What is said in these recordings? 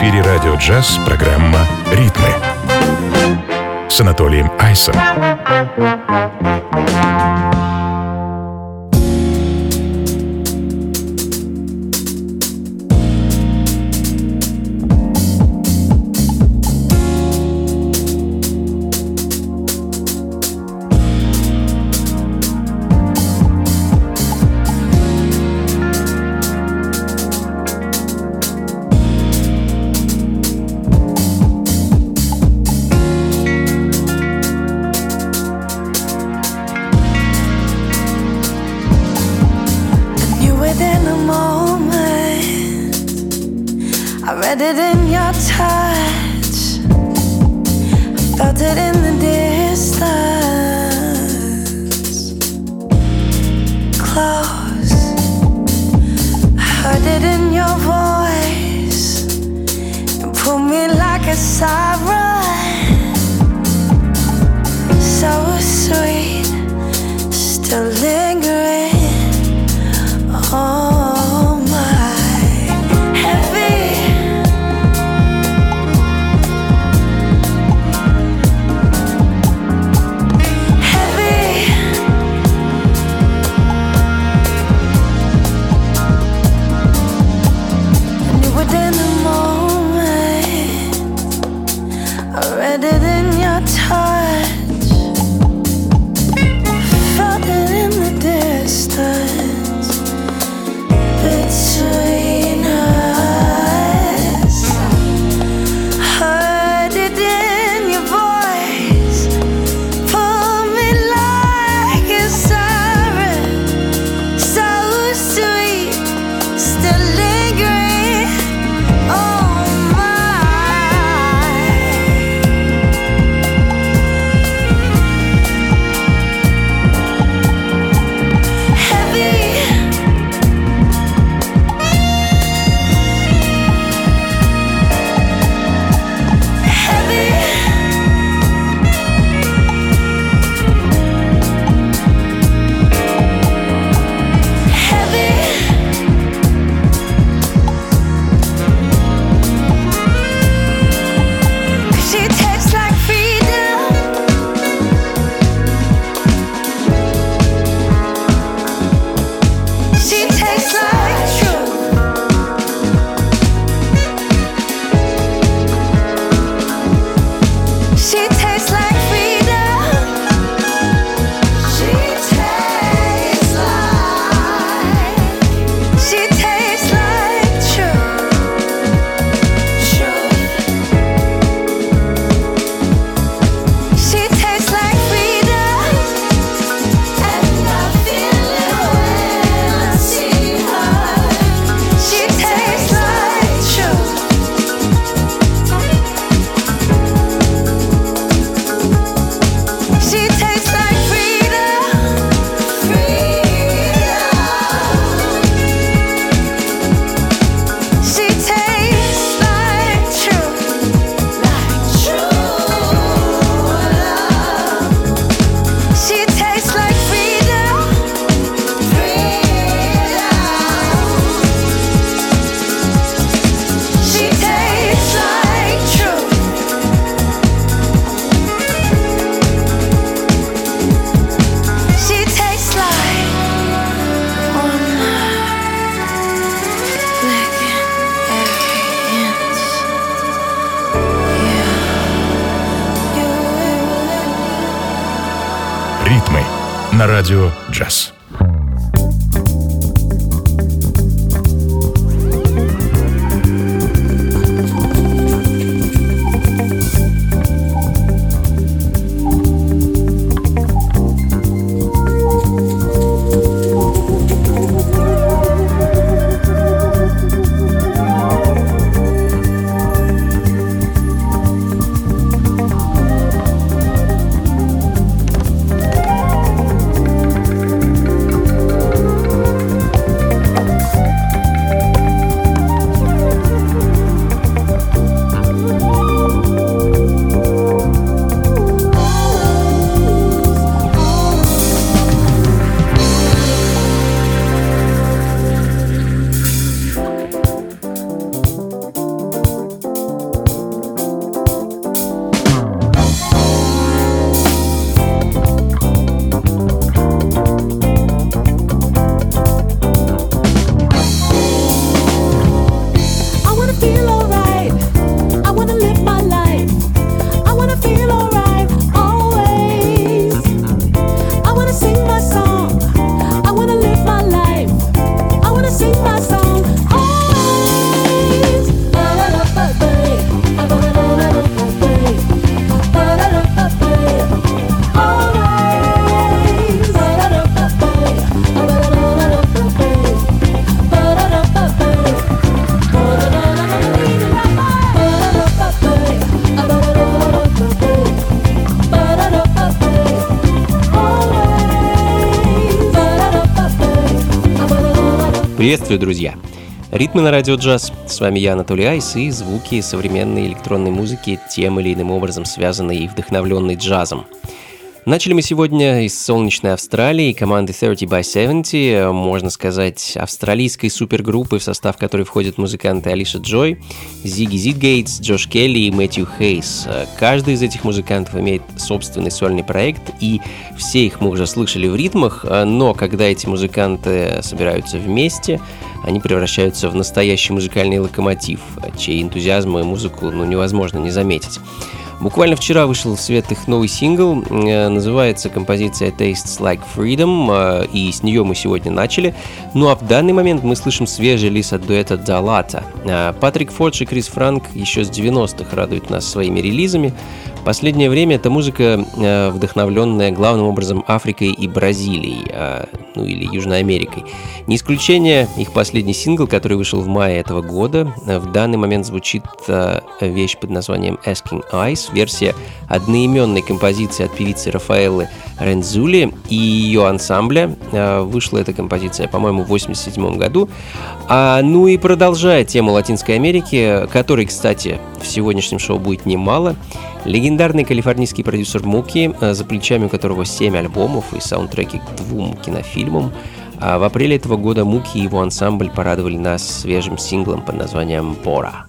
эфире радио «Джаз» программа «Ритмы» с Анатолием Айсом. «Ритмы» на радио «Джаз». Приветствую, друзья! Ритмы на радио джаз. С вами я, Анатолий Айс, и звуки современной электронной музыки, тем или иным образом связанные и вдохновленные джазом. Начали мы сегодня из солнечной Австралии, команды 30 by 70, можно сказать, австралийской супергруппы, в состав которой входят музыканты Алиша Джой, Зигги Зитгейтс, Джош Келли и Мэтью Хейс. Каждый из этих музыкантов имеет собственный сольный проект, и все их мы уже слышали в ритмах, но когда эти музыканты собираются вместе, они превращаются в настоящий музыкальный локомотив, чей энтузиазм и музыку невозможно не заметить. Буквально вчера вышел в свет их новый сингл, называется композиция Tastes Like Freedom, и с нее мы сегодня начали. Ну а в данный момент мы слышим свежий релиз от дуэта Далата. Патрик Фордж и Крис Франк еще с 90-х радуют нас своими релизами. В последнее время эта музыка, вдохновленная главным образом Африкой и Бразилией, ну или Южной Америкой. Не исключение их последний сингл, который вышел в мае этого года. В данный момент звучит вещь под названием Asking Eyes, версия одноименной композиции от певицы Рафаэллы Рензули и ее ансамбля. Вышла эта композиция, по-моему, в 1987 году. Ну и продолжая тему Латинской Америки, которой, кстати, в сегодняшнем шоу будет немало, легендарный калифорнийский продюсер Муки, за плечами у которого 7 альбомов и саундтреки к 2 кинофильмам. В апреле этого года Муки и его ансамбль порадовали нас свежим синглом под названием «Бора».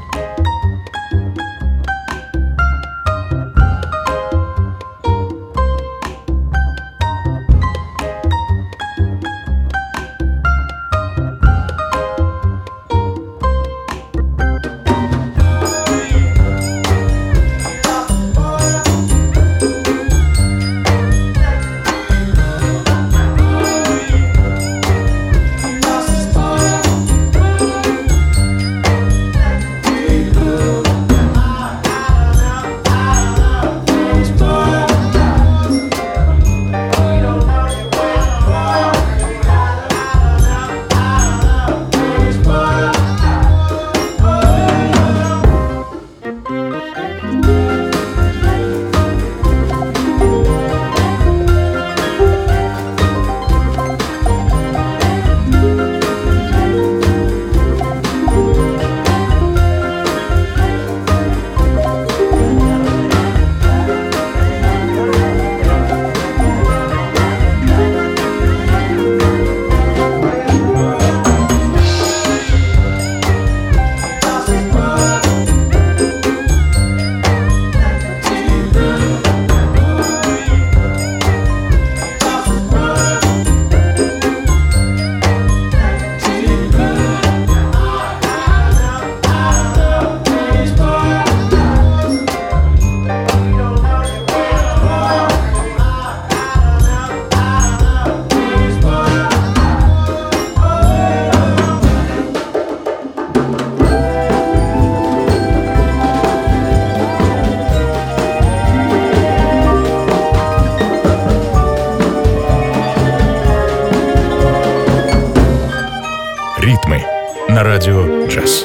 Ритмы на радио джаз.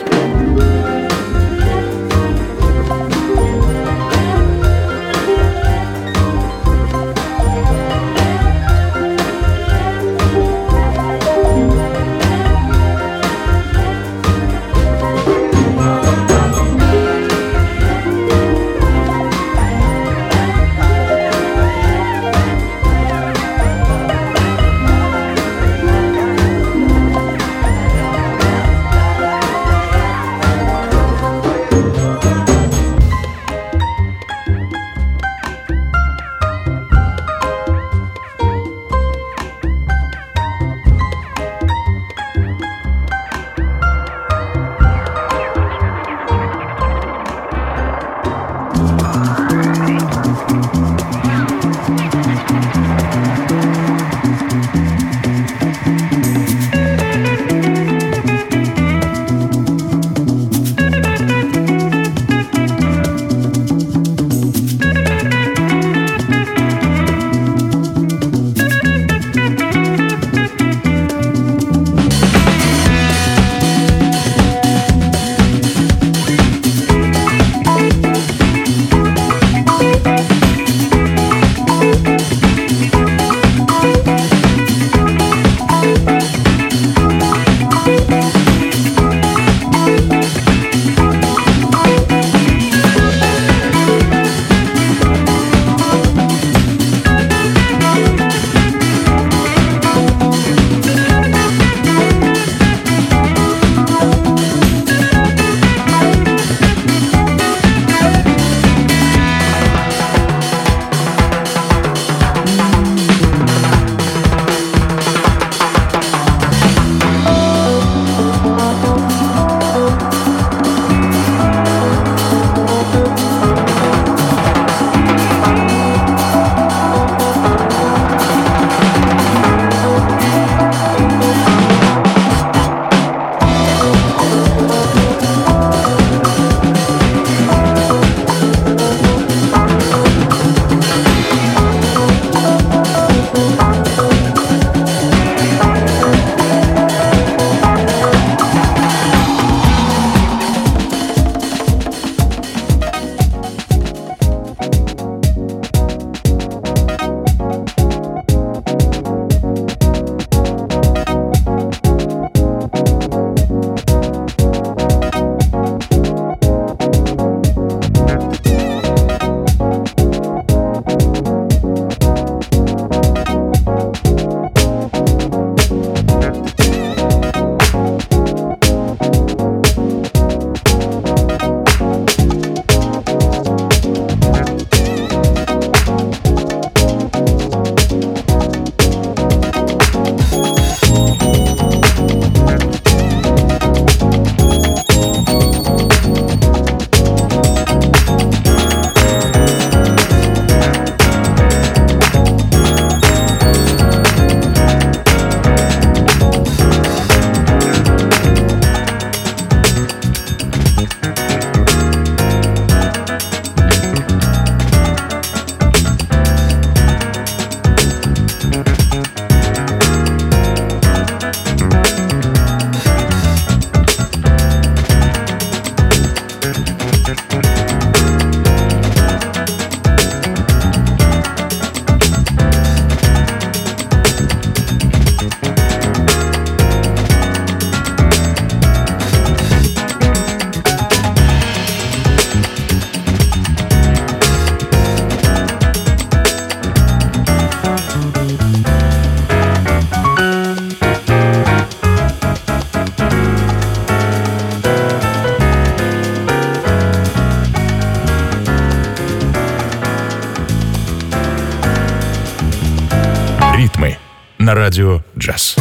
на радио «Джаз».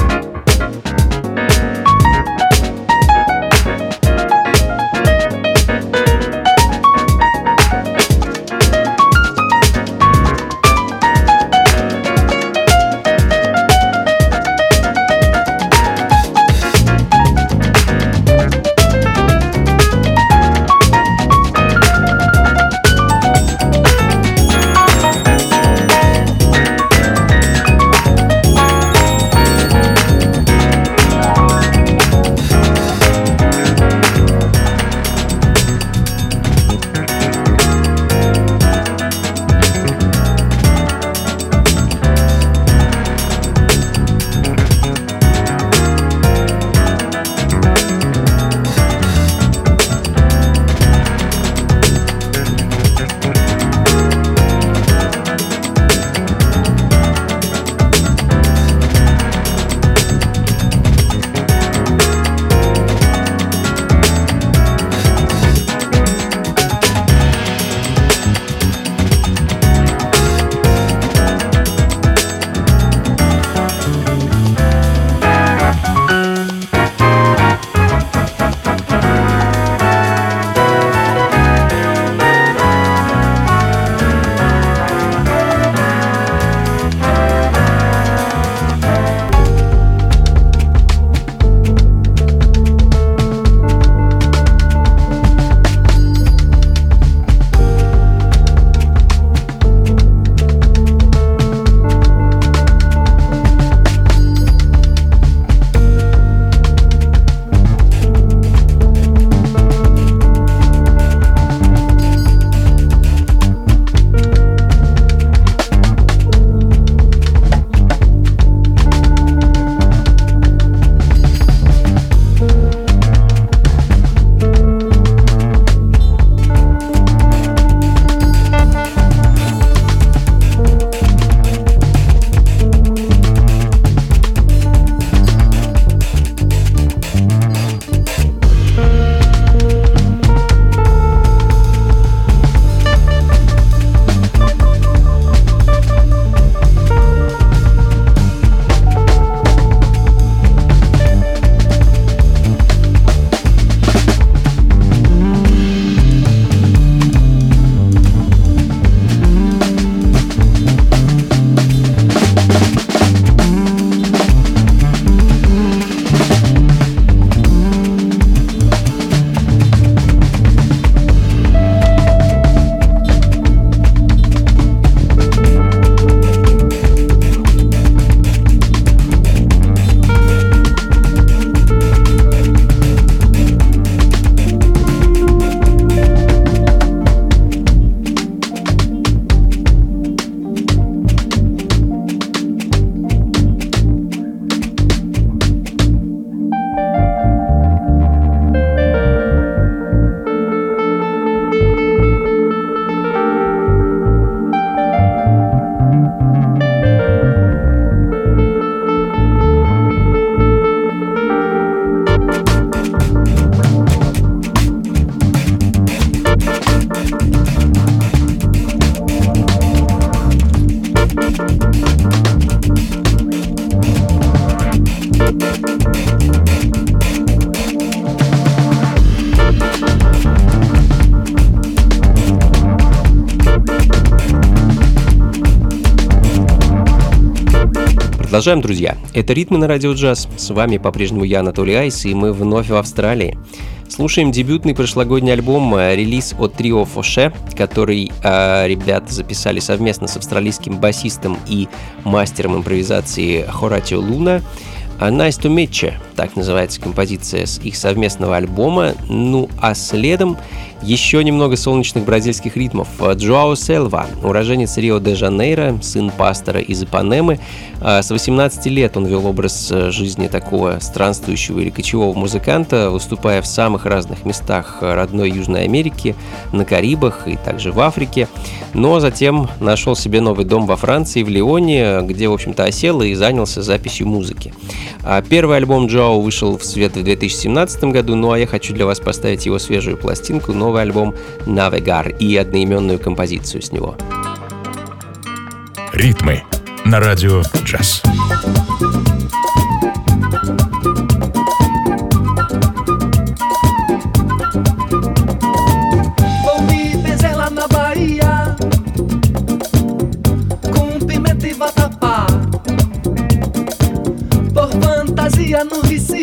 Продолжаем, друзья. Это «Ритмы на радио джаз». С вами по-прежнему я, Анатолий Айс, и мы вновь в Австралии. Слушаем дебютный прошлогодний альбом, релиз от трио Фоше, который ребята записали совместно с австралийским басистом и мастером импровизации Хоратио Луна. «Nice to meet you», так называется композиция с их совместного альбома. Ну а следом еще немного солнечных бразильских ритмов. Джоао Сельва, уроженец Рио-де-Жанейро, сын пастора из Ипанемы. С 18 лет он вел образ жизни такого странствующего или кочевого музыканта, выступая в самых разных местах родной Южной Америки, на Карибах и также в Африке. Но затем нашел себе новый дом во Франции, в Лионе, где, в общем-то, осел и занялся записью музыки. Первый альбом Джоао вышел в свет в 2017 году, ну а я хочу для вас поставить его свежую пластинку, новый альбом «Навегар» и одноименную композицию с него. Ритмы на радио «Джаз».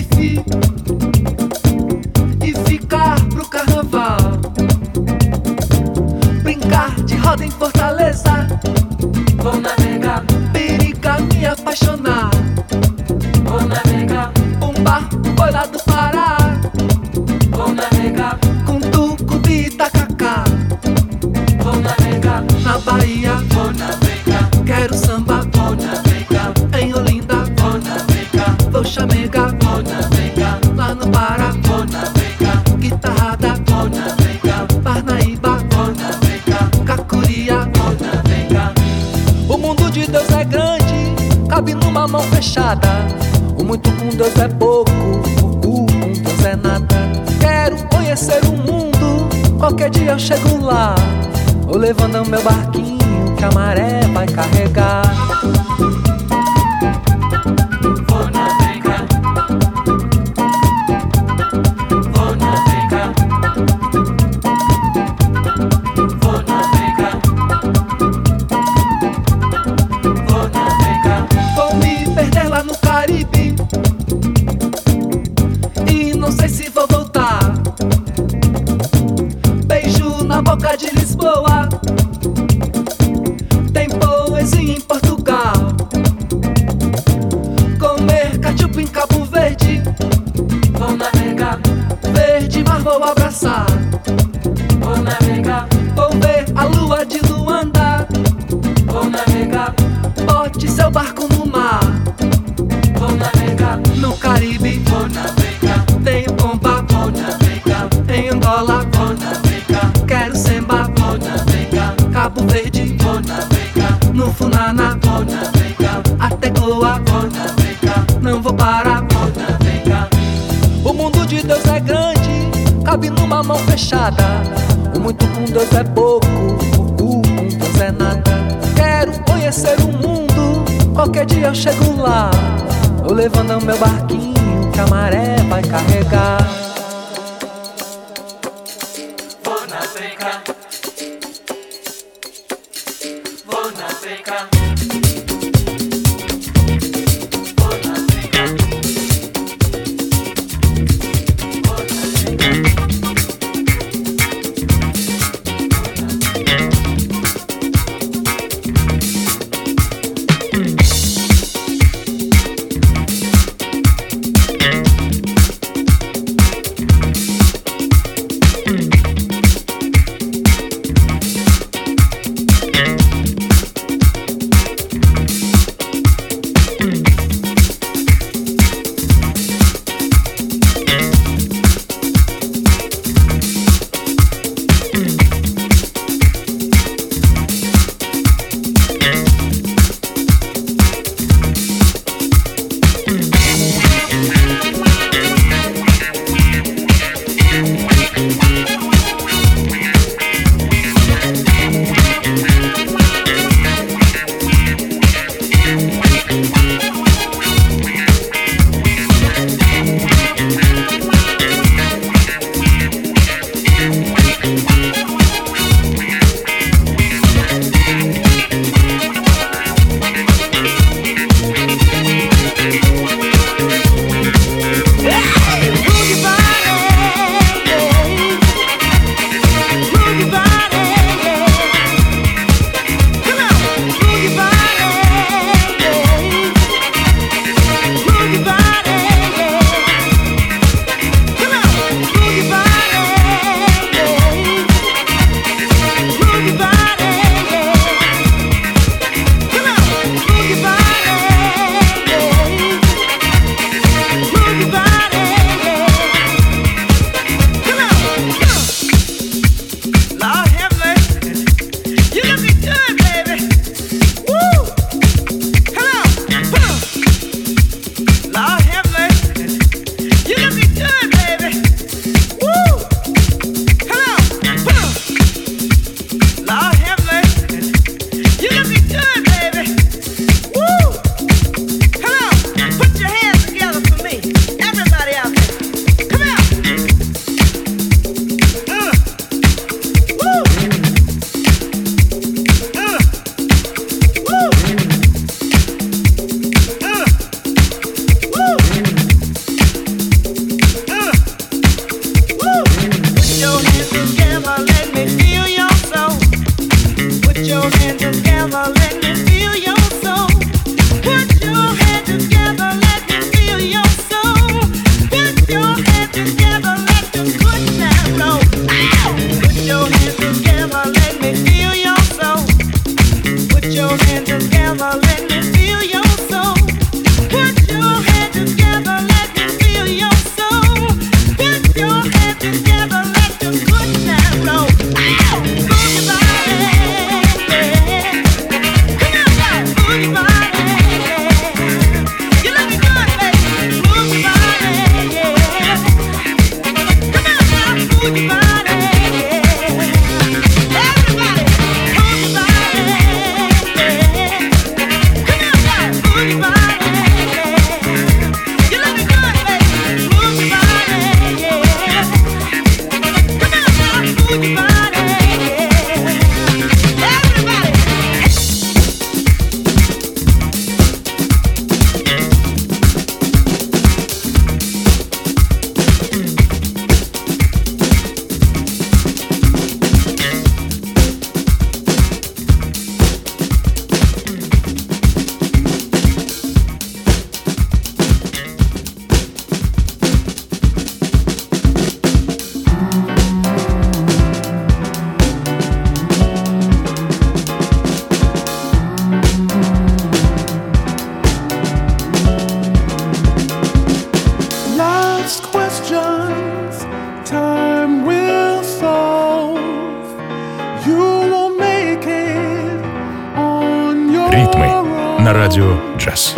Recife e ficar pro carnaval. Brincar de roda em Fortaleza. Vou navegar, periga me apaixonar. Vou navegar, Pumba, boi lá do Pará. Vou navegar, com tucupi e tacacá. Vou navegar, na Bahia. Vou navegar, quero samba. Vou navegar, em Olinda. Vou navegar, vou chamegar. Vou navegar, lá no Pará. Vou navegar, guitarrada. Vou navegar, Parnaíba. Vou navegar, Cacuria. Vou navegar. O mundo de Deus é grande, cabe numa mão fechada. O muito com Deus é pouco, o com Deus é nada. Quero conhecer o mundo, qualquer dia eu chego lá. Vou levando meu barquinho que a maré vai carregar. Vou navegar, vou navegar, vou navegar, vou navegar. Vou me perder lá no Caribe e não sei se vou voltar. Beijo na boca de Lisboa, tem poesia em Portugal. Comer cachupa em Cabo Verde. Vou navegar, verde mar vou abraçar. Vou navegar, vou ver a lua de Luanda. Vou navegar, bote seu barco no mar. Vou navegar, no Caribe. Vou navegar, tenho pomba. Vou navegar, em Angola. Vou navegar, quero semba. Vou navegar, Cabo Verde. Vou navegar, no Funana. Vou navegar, até Goa. Vou navegar, não vou parar. Vou navegar. O mundo de Deus é grande, cabe numa mão fechada. O muito com Deus é pouco, o com Deus é nada. Quero conhecer o mundo, qualquer dia eu chego lá. Vou levando meu barquinho que a maré vai carregar. Vou navegar, vou navegar, vou navegar, vou navegar. на радио «Джаз».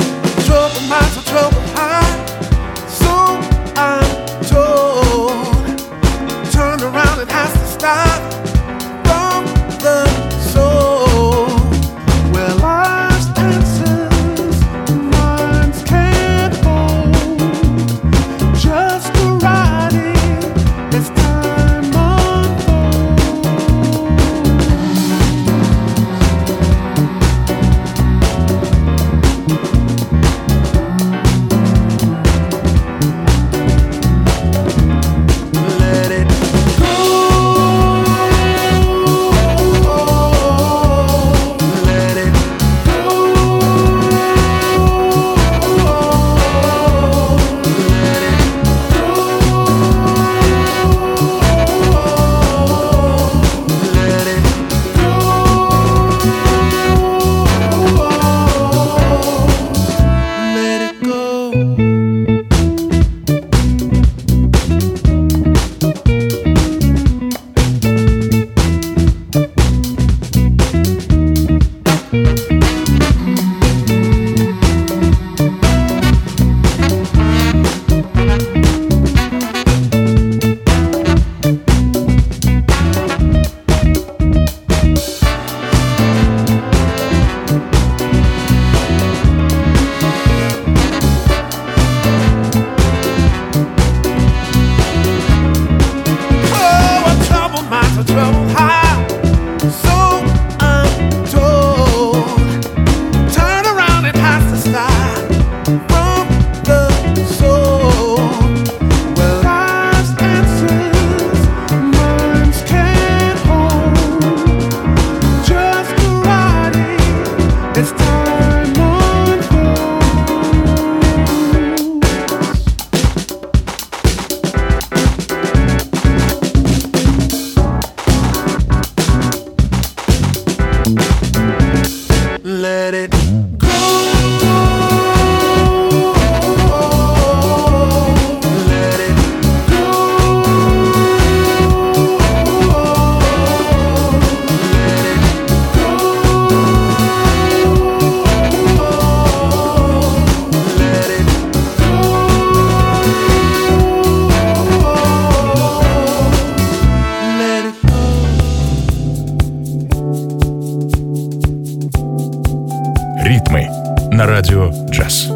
Ритмы на радио «Джаз».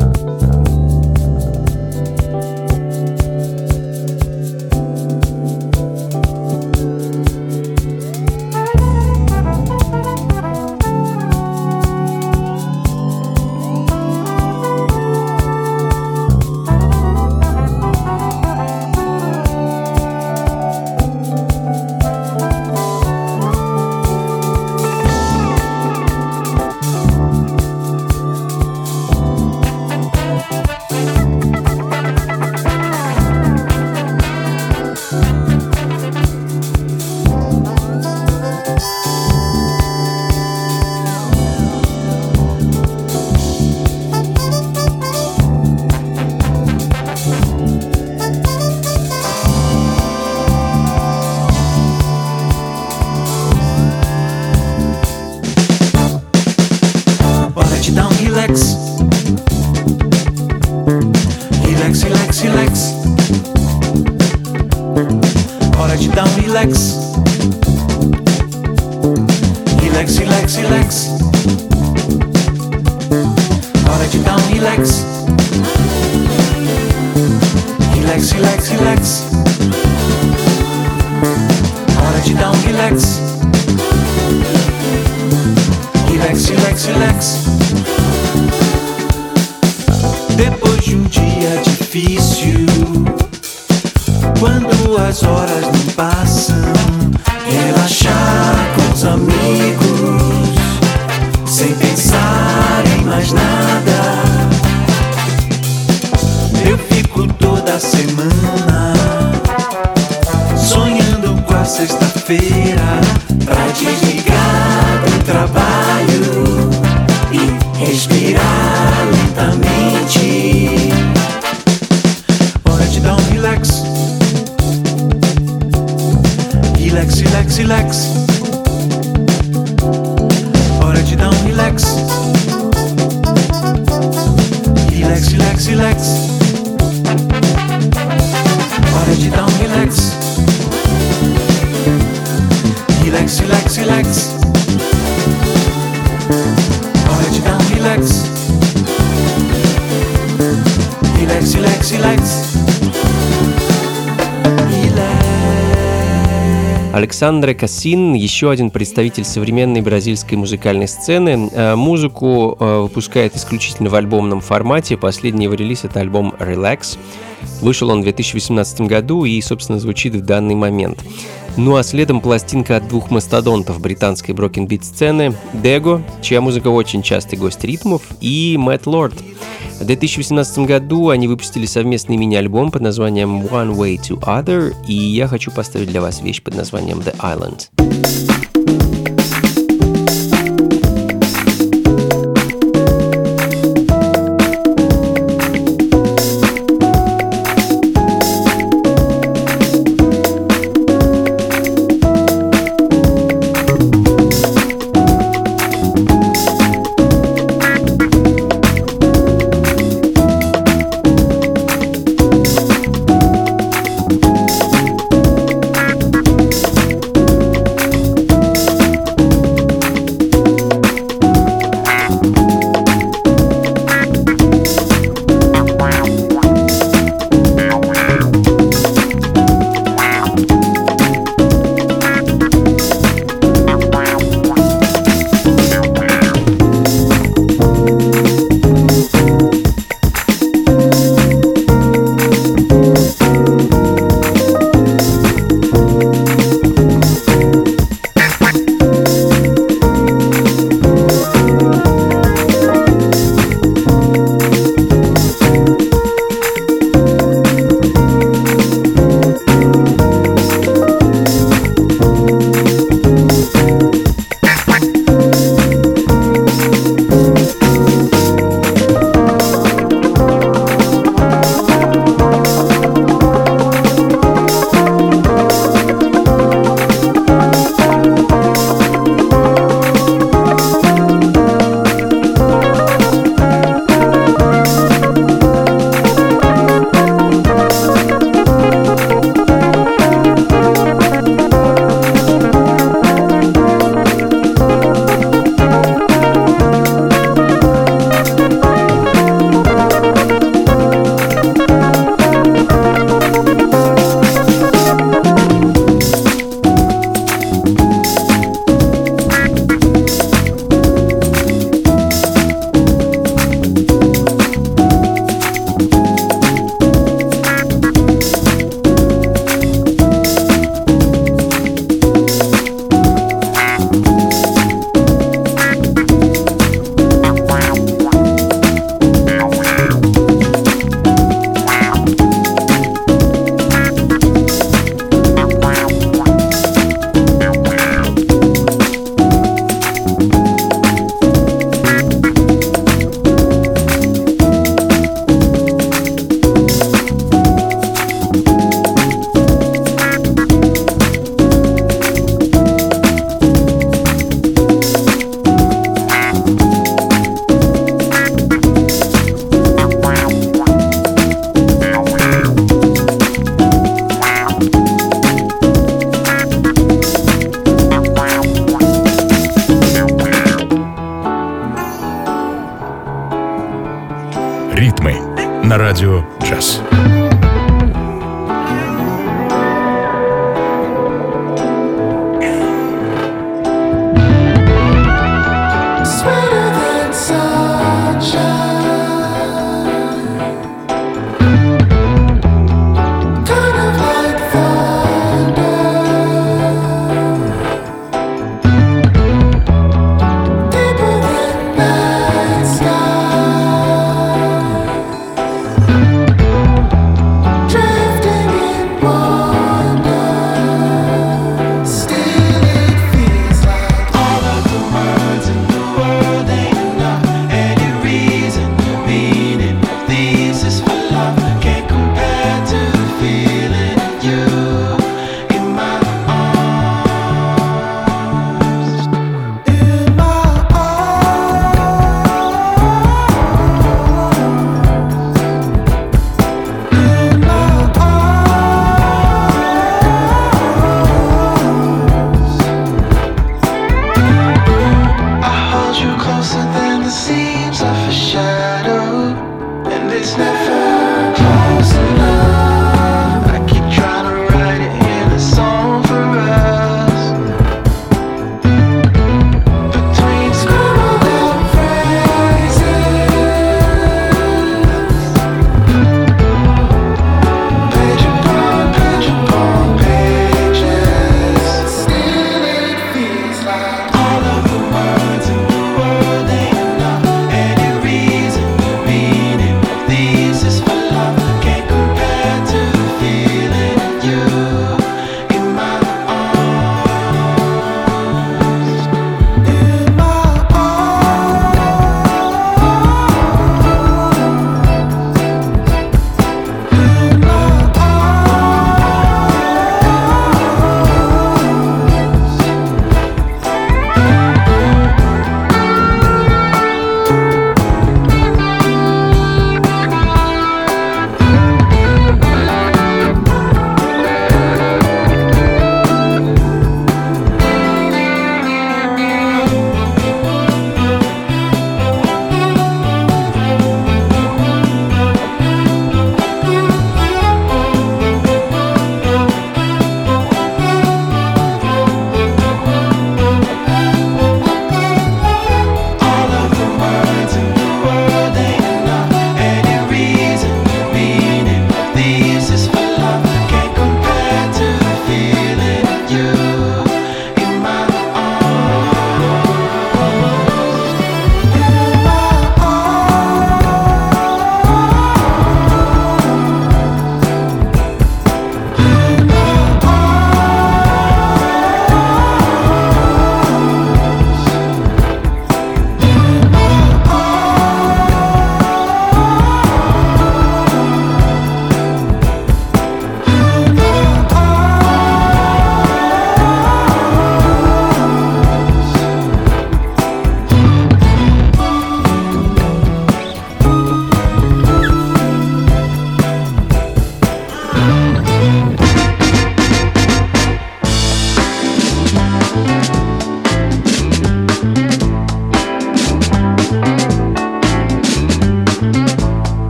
Depois de dia difícil, quando as horas não passam, relaxar com os amigos, sem pensar em mais nada. Eu fico toda semana sonhando com a sexta-feira, pra desligar do trabalho e respirar lentamente. Hora de dar um relax. Relax, relax, relax. Hora de dar um relax. Александре Кассин, еще один представитель современной бразильской музыкальной сцены. Музыку выпускает исключительно в альбомном формате. Последний его релиз — это альбом «Relax». Вышел он в 2018 году и, собственно, звучит в данный момент. Ну а следом пластинка от двух мастодонтов британской брокенбит-сцены — Дего, чья музыка очень частый гость ритмов, и Мэтт Лорд. В 2018 году они выпустили совместный мини-альбом под названием One Way to Other, и я хочу поставить для вас вещь под названием The Island. Ритмы на радио «Джаз».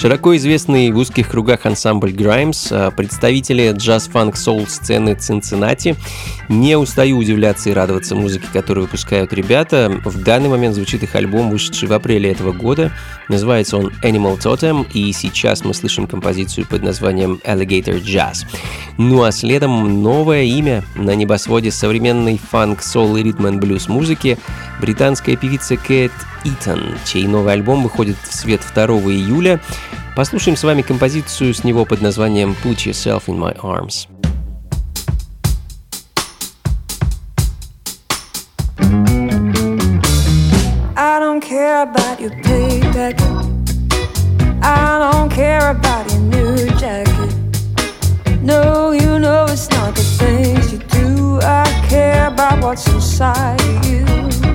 Широко известный в узких кругах ансамбль Grimes, представители джаз-фанк-соул сцены Цинциннати. Не устаю удивляться и радоваться музыке, которую выпускают ребята. В данный момент звучит их альбом, вышедший в апреле этого года. Называется он Animal Totem, и сейчас мы слышим композицию под названием Alligator Jazz. Ну а следом новое имя на небосводе современной фанк, соул и ритм-н-блюз музыки — британская певица Кэт Итон, чей новый альбом выходит в свет 2 июля. Послушаем с вами композицию с него под названием Put Yourself in My Arms. I don't care about your payback. I don't care about your new jacket. No, you know it's not the things you do. I care about what's inside of you.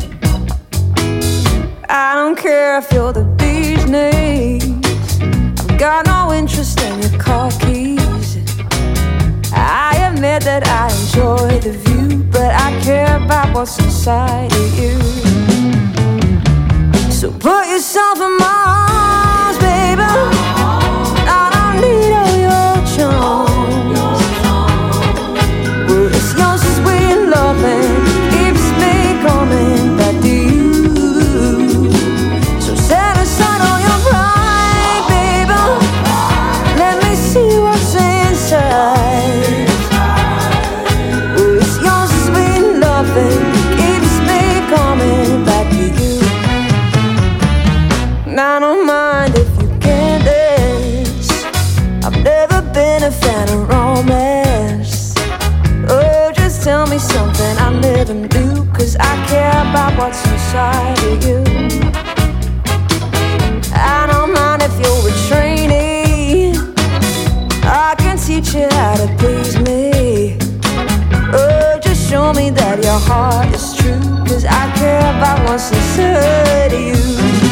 I don't care if you're the bee's knees. I've got no interest in your car keys. I admit that I enjoy the view, but I care about what's inside of you. So put yourself in my arms, baby. I don't need all your charms. Well, it's yours is sweet loving, keeps me coming back to you. So set aside all your pride, baby. Let me see what's inside. Well, it's yours is sweet loving, keeps me coming back to you. I don't mind if you can't dance. I've never been a fan of romance. Oh, just tell me something I never knew, 'cause I care about what's inside of you. I don't mind if you're a trainee. I can teach you how to please me. Oh, just show me that your heart is true, 'cause I care about what's inside of you.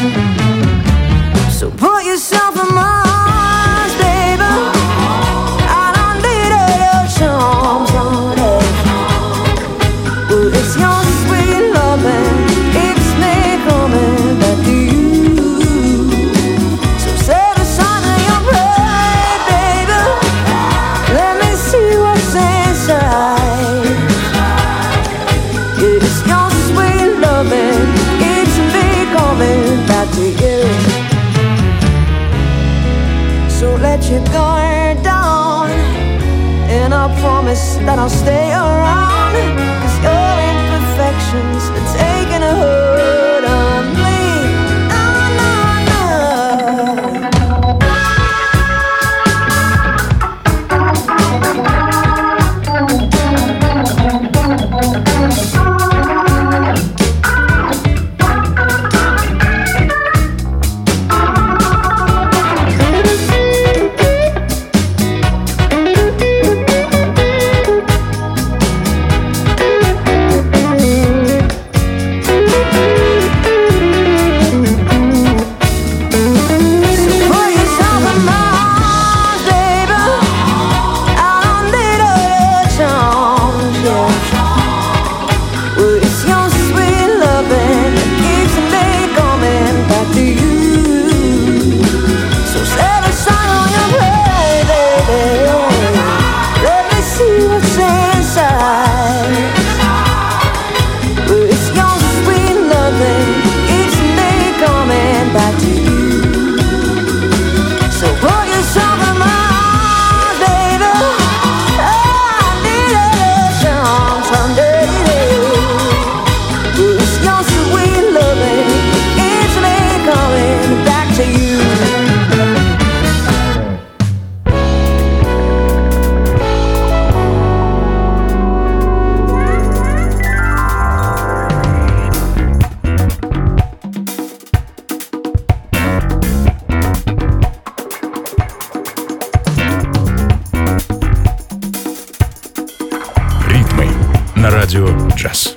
So put yourself in my arms, baby. I don't need all your charms on it. Well, it's your sweet loving, keeps me coming back to you. So set aside your pride, baby. Let me see what's inside. It's your sweet loving, keeps me coming back to you. So let your guard down, and I promise that I'll stay around, 'cause your imperfections are taking a hold on me. Oh, no, Радио Джаз.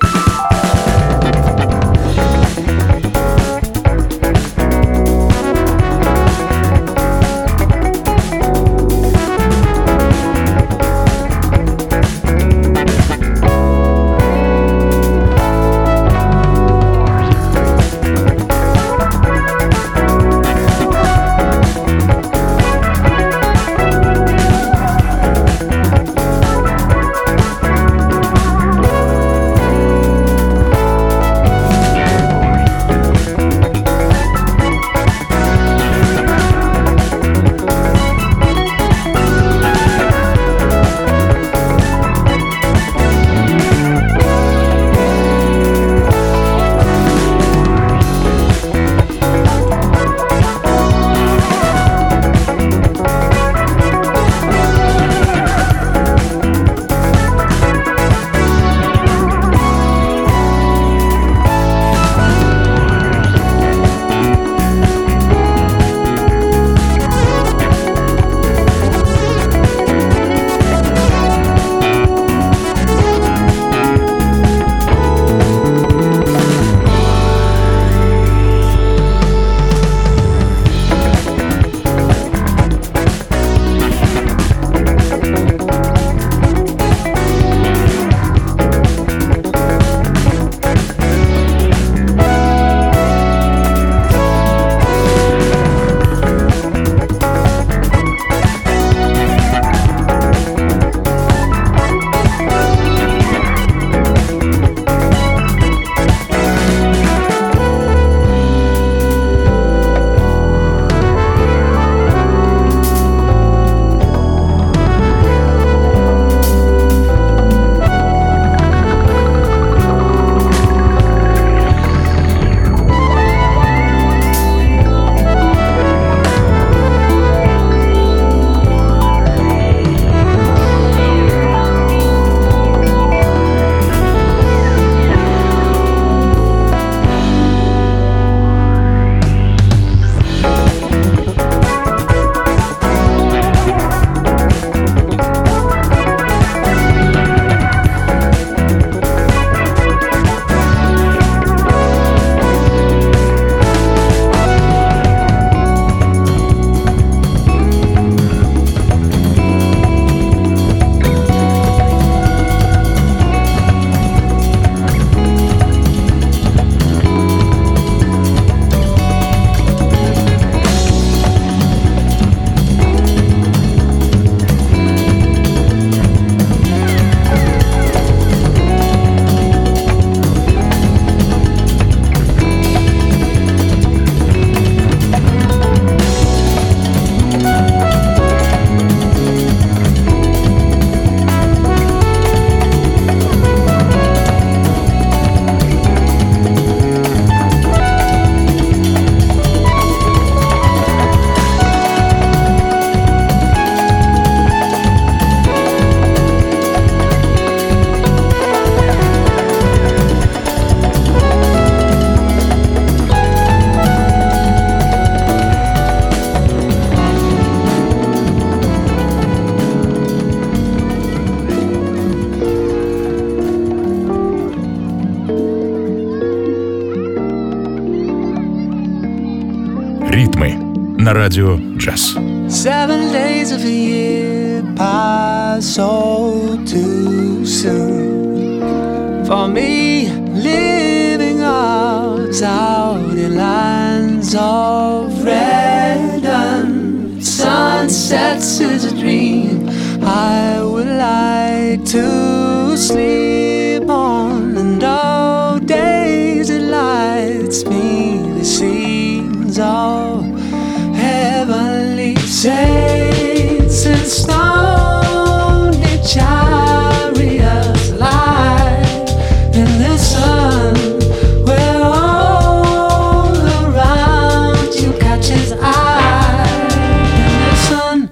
на радио «Джаз». 7 days of a year pass so too soon. For me, living out in lands of red and sunsets is a dream I would like to sleep on, and all days it lights me the scenes of heavenly saints and stony chariots lie in the sun, where all around you catches eye in the sun.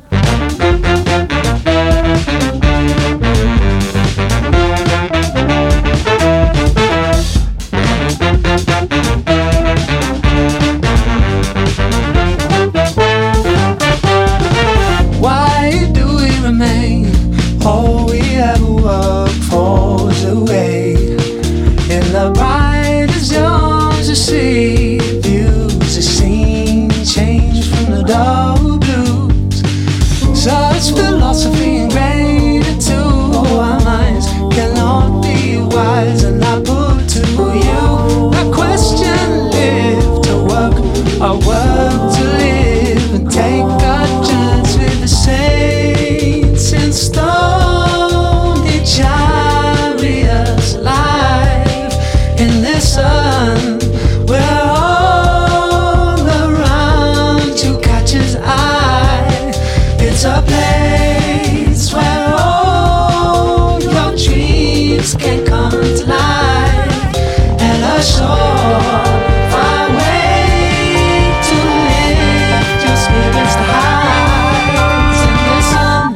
Why do we remain? All we ever work for is away. In the brightest yours to see views, the scene change from the dull blues. Such philosophy ingrained into our minds cannot be wise, and I put to you a question: live to work or work to live, and take our chance with the saints and stony chariots live in the sun, where all around you catches eye. It's a place where all your dreams can come to life, and a shore far away to lift your spirits to heights in the sun.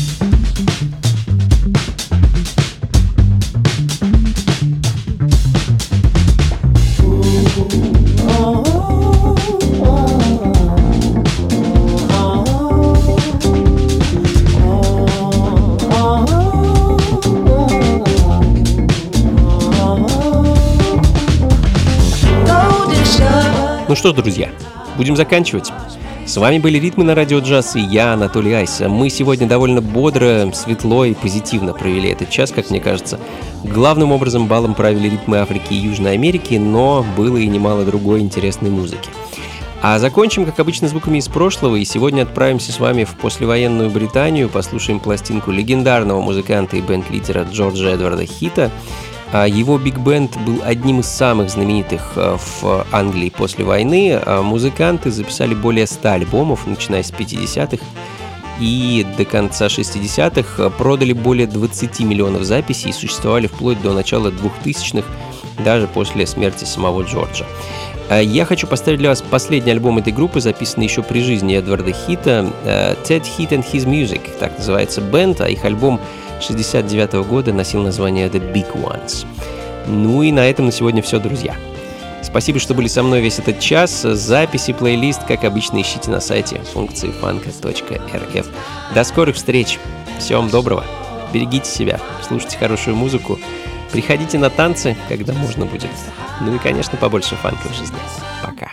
Ну что ж, друзья, будем заканчивать. С вами были «Ритмы на радио Джаз» и я, Анатолий Айс. Мы сегодня довольно бодро, светло и позитивно провели этот час, как мне кажется. Главным образом балом правили ритмы Африки и Южной Америки, но было и немало другой интересной музыки. А закончим, как обычно, звуками из прошлого, и сегодня отправимся с вами в послевоенную Британию, послушаем пластинку легендарного музыканта и бенд-лидера Джорджа Эдварда Хита. Его биг-бенд был одним из самых знаменитых в Англии после войны. Музыканты записали более 100 альбомов, начиная с 50-х, и до конца 60-х продали более 20 миллионов записей и существовали вплоть до начала 2000-х, даже после смерти самого Джорджа. Я хочу поставить для вас последний альбом этой группы, записанный еще при жизни Эдварда Хита, Ted Heat and His Music, так называется бенд, а их альбом 1969 года носил название The Big Ones. Ну и на этом на сегодня все, друзья. Спасибо, что были со мной весь этот час. Записи, плейлист, как обычно, ищите на сайте функции фанка.рф. До скорых встреч. Всего вам доброго. Берегите себя, слушайте хорошую музыку. Приходите на танцы, когда можно будет. Ну и, конечно, побольше фанка в жизни. Пока.